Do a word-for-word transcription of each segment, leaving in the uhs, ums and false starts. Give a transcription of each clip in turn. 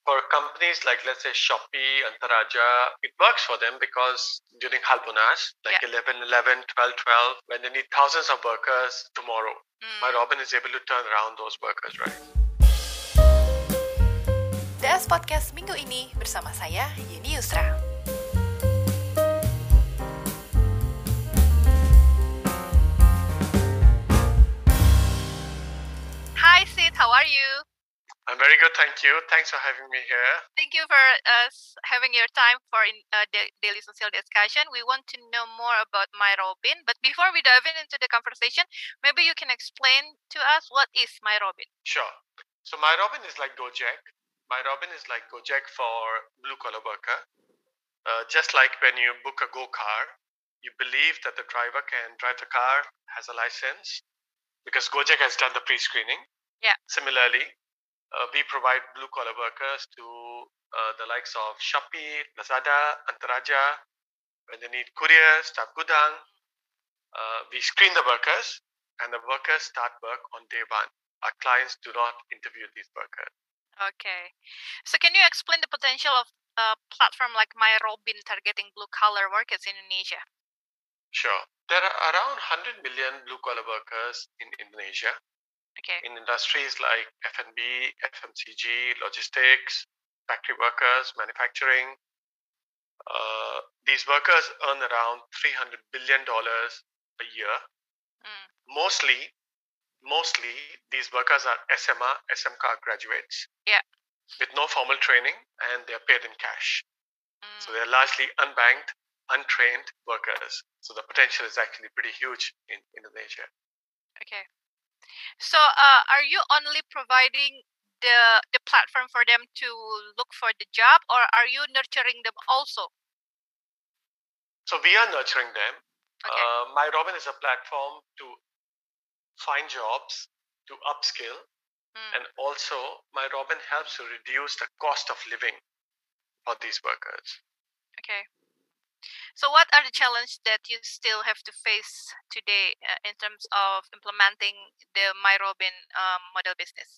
For companies like, let's say, Shopee, Antaraja, it works for them because during Halbonas, like Yeah. eleven eleven, twelve twelve, when they need thousands of workers tomorrow, Hmm. MyRobin is able to turn around those workers, right? D S Podcast minggu ini bersama saya, Yeni Yusra. Hi Sid, how are you? I'm very good, thank you. Thanks for having me here. Thank you for us having your time for in, uh, da- daily social discussion. We want to know more about MyRobin, but before we dive in into the conversation, maybe you can explain to us what is MyRobin. Sure. So MyRobin is like Gojek. MyRobin is like Gojek for blue collar worker. Uh, just like when you book a Go car, you believe that the driver can drive the car, has a license, because Gojek has done the pre-screening. Yeah. Similarly, uh, we provide blue collar workers to uh, the likes of Shopee, Lazada, Antaraja. When they need couriers, staff gudang, uh, we screen the workers, and the workers start work on day one. Our clients do not interview these workers. Okay. So can you explain the potential of a platform like MyRobin targeting blue collar workers in Indonesia? Sure. There are around one hundred million blue collar workers in Indonesia. Okay. In industries like F and B, F M C G, logistics, factory workers, manufacturing. Uh, these workers earn around three hundred billion dollars a year. Mm. Mostly, mostly these workers are S M R, S M C A graduates. Yeah. With no formal training, and they are paid in cash. Mm. So they're largely unbanked, untrained workers. So the potential is actually pretty huge in Indonesia. Okay. So uh, are you only providing the the platform for them to look for the job, or are you nurturing them also? So we are nurturing them. Okay. Uh, MyRobin is a platform to find jobs, to upskill, Mm. and also MyRobin helps to reduce the cost of living for these workers. Okay. So what are the challenges that you still have to face today uh, in terms of implementing the MyRobin um, model business?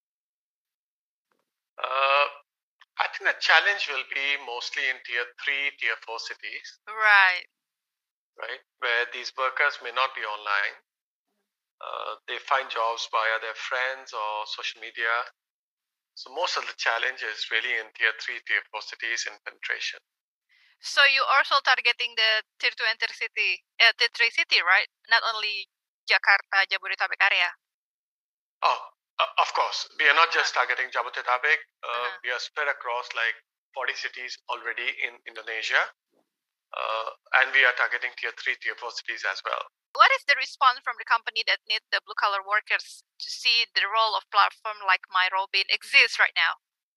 Uh, I think the challenge will be mostly in tier three, tier four cities. Right. Right, where these workers may not be online. Uh, they find jobs via their friends or social media. So most of the challenge is really in tier three, tier four cities in penetration. So you also targeting the tier two and tier city, uh, tier three city, right? Not only Jakarta, Jabodetabek area. Oh, uh, of course. We are not just Uh-huh. targeting Jabodetabek. Uh, Uh-huh. We are spread across like forty cities already in Indonesia. Uh, and we are targeting tier three, tier four cities as well. What is the response from the company that need the blue collar workers to see the role of platform like MyRobin exists right now?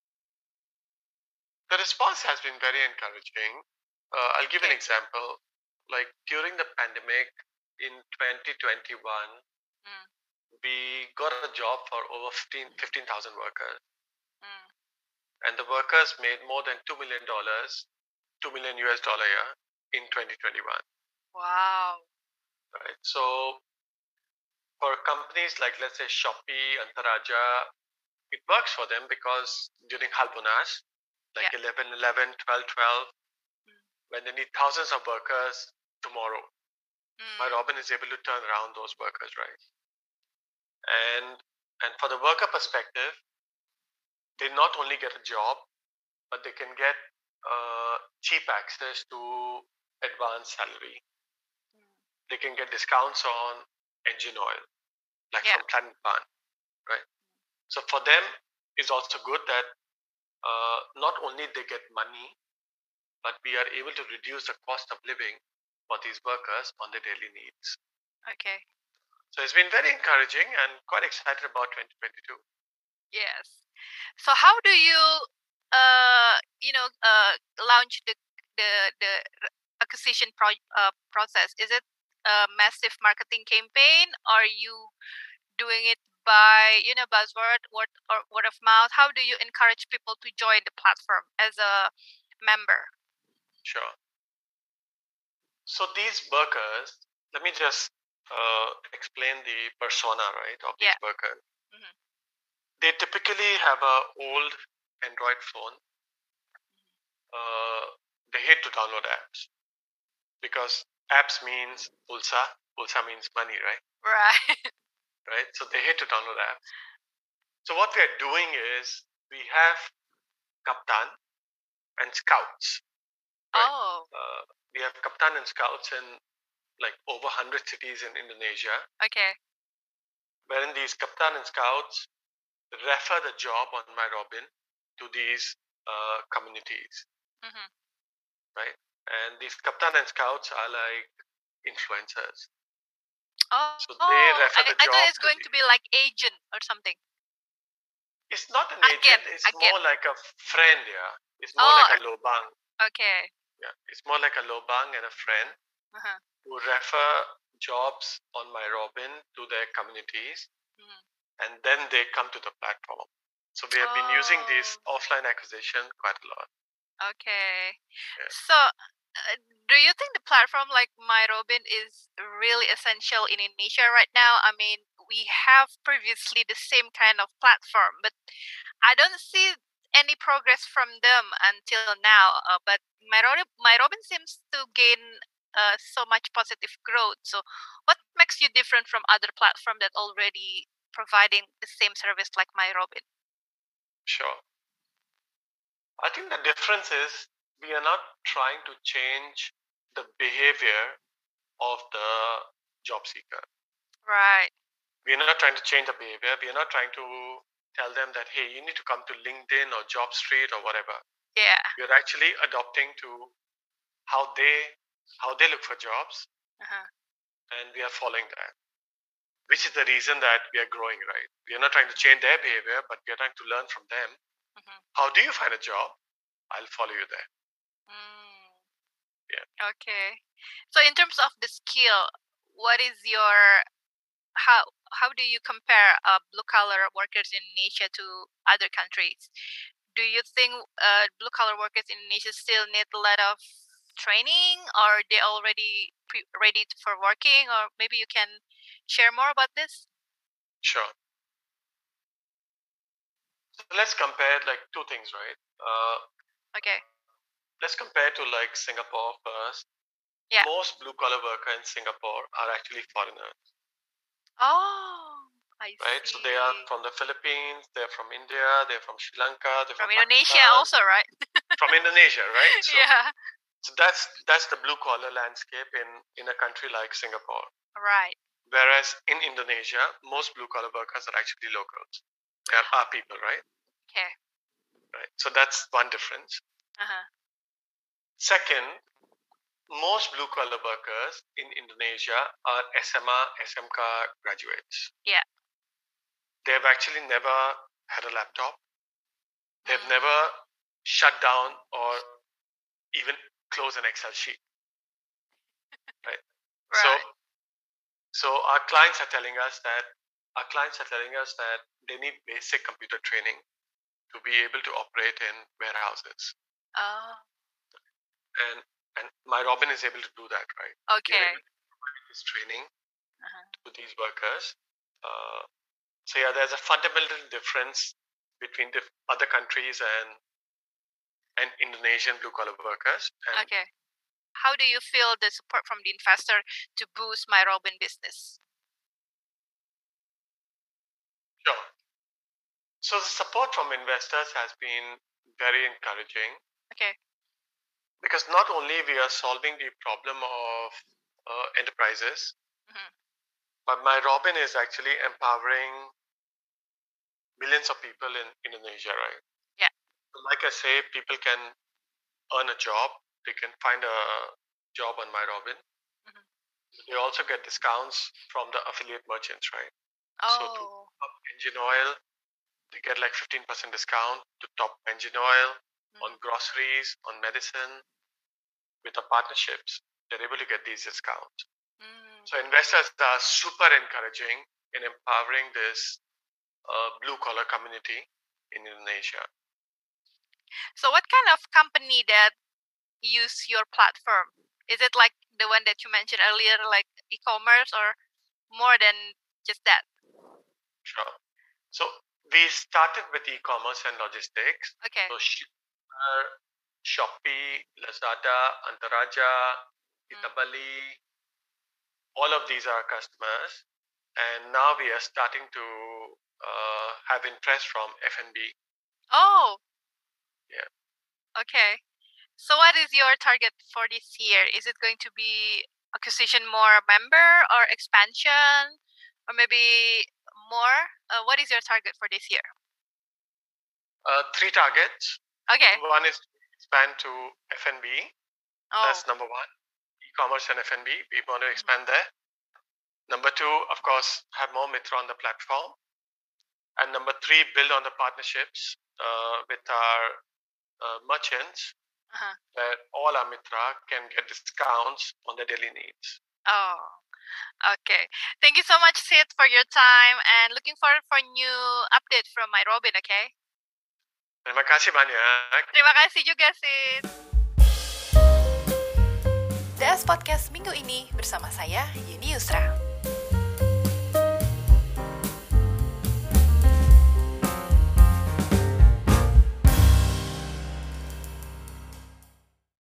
The response has been very encouraging. Uh, I'll give an Okay. example. Like during the pandemic in twenty twenty-one, Mm. we got a job for over fifteen thousand workers. Mm. And the workers made more than two million dollars, two million U S dollar a year in twenty twenty-one. Wow. Right. So for companies like, let's say, Shopee, Antaraja, it works for them because during Halbonas, like Yeah. eleven eleven, twelve twelve, Mm. when they need thousands of workers tomorrow, Mm. MyRobin is able to turn around those workers, right? And and for the worker perspective, they not only get a job, but they can get uh, cheap access to advanced salary. Mm. They can get discounts on engine oil, like Yeah. from Planet Pan, right? So for them, it's also good that uh, not only they get money, but we are able to reduce the cost of living for these workers on their daily needs. Okay. So it's been very encouraging and quite excited about twenty twenty-two. Yes. So how do you, uh, you know, uh, launch the the the acquisition pro- uh, process? Is it a massive marketing campaign, or are you doing it by, you know, buzzword, word or word of mouth? How do you encourage people to join the platform as a member? Sure. So these workers, let me just uh, explain the persona, right, of these Yeah. workers. Mm-hmm. They typically have a old Android phone, uh, they hate to download apps because apps means pulsa. Pulsa means money, right? Right. Right. So they hate to download apps. So what we are doing is we have Kaptan and Scouts. Right. Oh, Uh, we have Kaptan and Scouts in like over one hundred cities in Indonesia, okay. wherein these Kaptan and Scouts refer the job on MyRobin to these uh, communities, Mm-hmm. right? And these Kaptan and Scouts are like influencers. Oh, So they refer I, the I job thought it's to going the, to be like agent or something. it's not an Again, agent, it's again. more like a friend, yeah. It's more Oh, like a lobang. okay. Yeah. It's more like a lobang and a friend Uh-huh. who refer jobs on MyRobin to their communities, Mhm. and then they come to the platform. So we have been using this Oh, offline acquisition quite a lot. okay. Yeah. So, uh, do you think the platform like MyRobin is really essential in Indonesia right now? I mean, we have previously the same kind of platform, but I don't see any progress from them until now. Uh, but MyRobin, MyRobin seems to gain uh, so much positive growth. So, what makes you different from other platform that already providing the same service like MyRobin? Sure. I think the difference is we are not trying to change the behavior of the job seeker. Right. We are not trying to change the behavior. We are not trying to tell them that, hey, you need to come to LinkedIn or JobStreet or whatever. Yeah. We are actually adopting to how they how they look for jobs, Uh-huh. and we are following that, which is the reason that we are growing, right? We are not trying to change their behavior, but we are trying to learn from them. Mhm. How do you find a job? I'll follow you there. Mm. Yeah. Okay. So in terms of the skill, what is your how how do you compare uh, blue collar workers in Indonesia to other countries? Do you think uh, blue collar workers in Indonesia still need a lot of training, or they already pre- ready for working? Or maybe you can share more about this. Sure. So let's compare like two things, right? Uh, Okay. let's compare to like Singapore first. Yeah. Most blue collar workers in Singapore are actually foreigners, Oh, I right? see. So they are from the Philippines, they're from India, they're from Sri Lanka, they're From from Indonesia Pakistan, also, right? from Indonesia, right? So, Yeah. so that's that's the blue collar landscape in in a country like Singapore. Right. Whereas in Indonesia, most blue collar workers are actually locals. They are our people, right? Okay. Right. So that's one difference. Uh-huh. Second, most blue collar workers in Indonesia are S M A, S M K graduates. Yeah. They've actually never had a laptop. They've Mm. never shut down or even closed an Excel sheet. Right. So Right. so our clients are telling us that our clients are telling us that they need basic computer training to be able to operate in warehouses. Oh, And and MyRobin is able to do that, right? We are okay. able to provide this training Uh-huh. to these workers. Uh, so yeah, there's a fundamental difference between the other countries and and Indonesian blue collar workers. And Okay. How do you feel the support from the investor to boost my Robin business? sure. So the support from investors has been very encouraging Okay. because not only we are solving the problem of uh, enterprises, Mhm. but MyRobin is actually empowering millions of people in Indonesia, right? Yeah. Like I say, people can earn a job. They can find a job on MyRobin. Mhm. They also get discounts from the affiliate merchants, right? So to Oh. top engine oil, they get like fifteen percent discount to top engine oil on Mhm. groceries, on medicine. With the partnerships, they're able to get these discounts. Mm. So investors are super encouraging in empowering this uh, blue collar community in Indonesia. So what kind of company that use your platform? Is it like the one that you mentioned earlier, like e-commerce, or more than just that? Sure. So we started with e-commerce and logistics. Okay. So Shopee, Lazada, Antaraja, Itabali, all of these are customers. And now we are starting to uh, have interest from F and B. Oh. Yeah. Okay. So what is your target for this year? Is it going to be acquisition more member or expansion or maybe more? Uh, what is your target for this year? Uh, three targets. Okay. One is to expand to F and B. Oh. That's number one. E-commerce and F and B. We want to expand there. Number two, of course, have more Mitra on the platform. And number three, build on the partnerships uh, with our uh, merchants, uh-huh. that all our Mitra can get discounts on their daily needs. Oh, okay. Thank you so much, Sid, for your time, and looking forward for new update from my Robin, okay? Terima kasih banyak. Terima kasih juga, Sid. D S Podcast minggu ini bersama saya, Yuni Yusra.